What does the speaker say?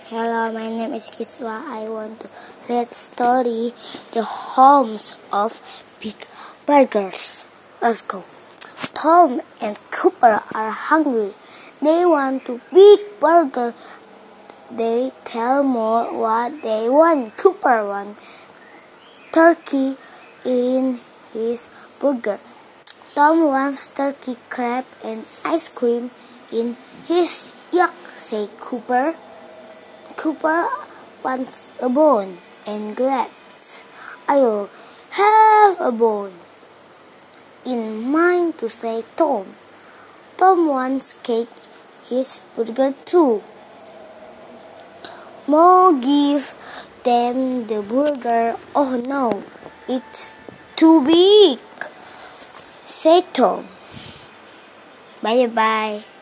Hello, my name is Kiswa. I want to read story The Homes of Big Burgers. Let's go. Tom and Cooper are hungry. They want to big burger. They tell Mo what they want. Cooper wants turkey in his burger. Tom wants turkey, crab, and ice cream in his. Yuck, say Cooper. Cooper wants a bone and grabs. I'll have a bone in mind to say Tom. Tom wants cake, his burger too. Mo give them the burger. Oh no, it's too big, say Tom. Bye bye.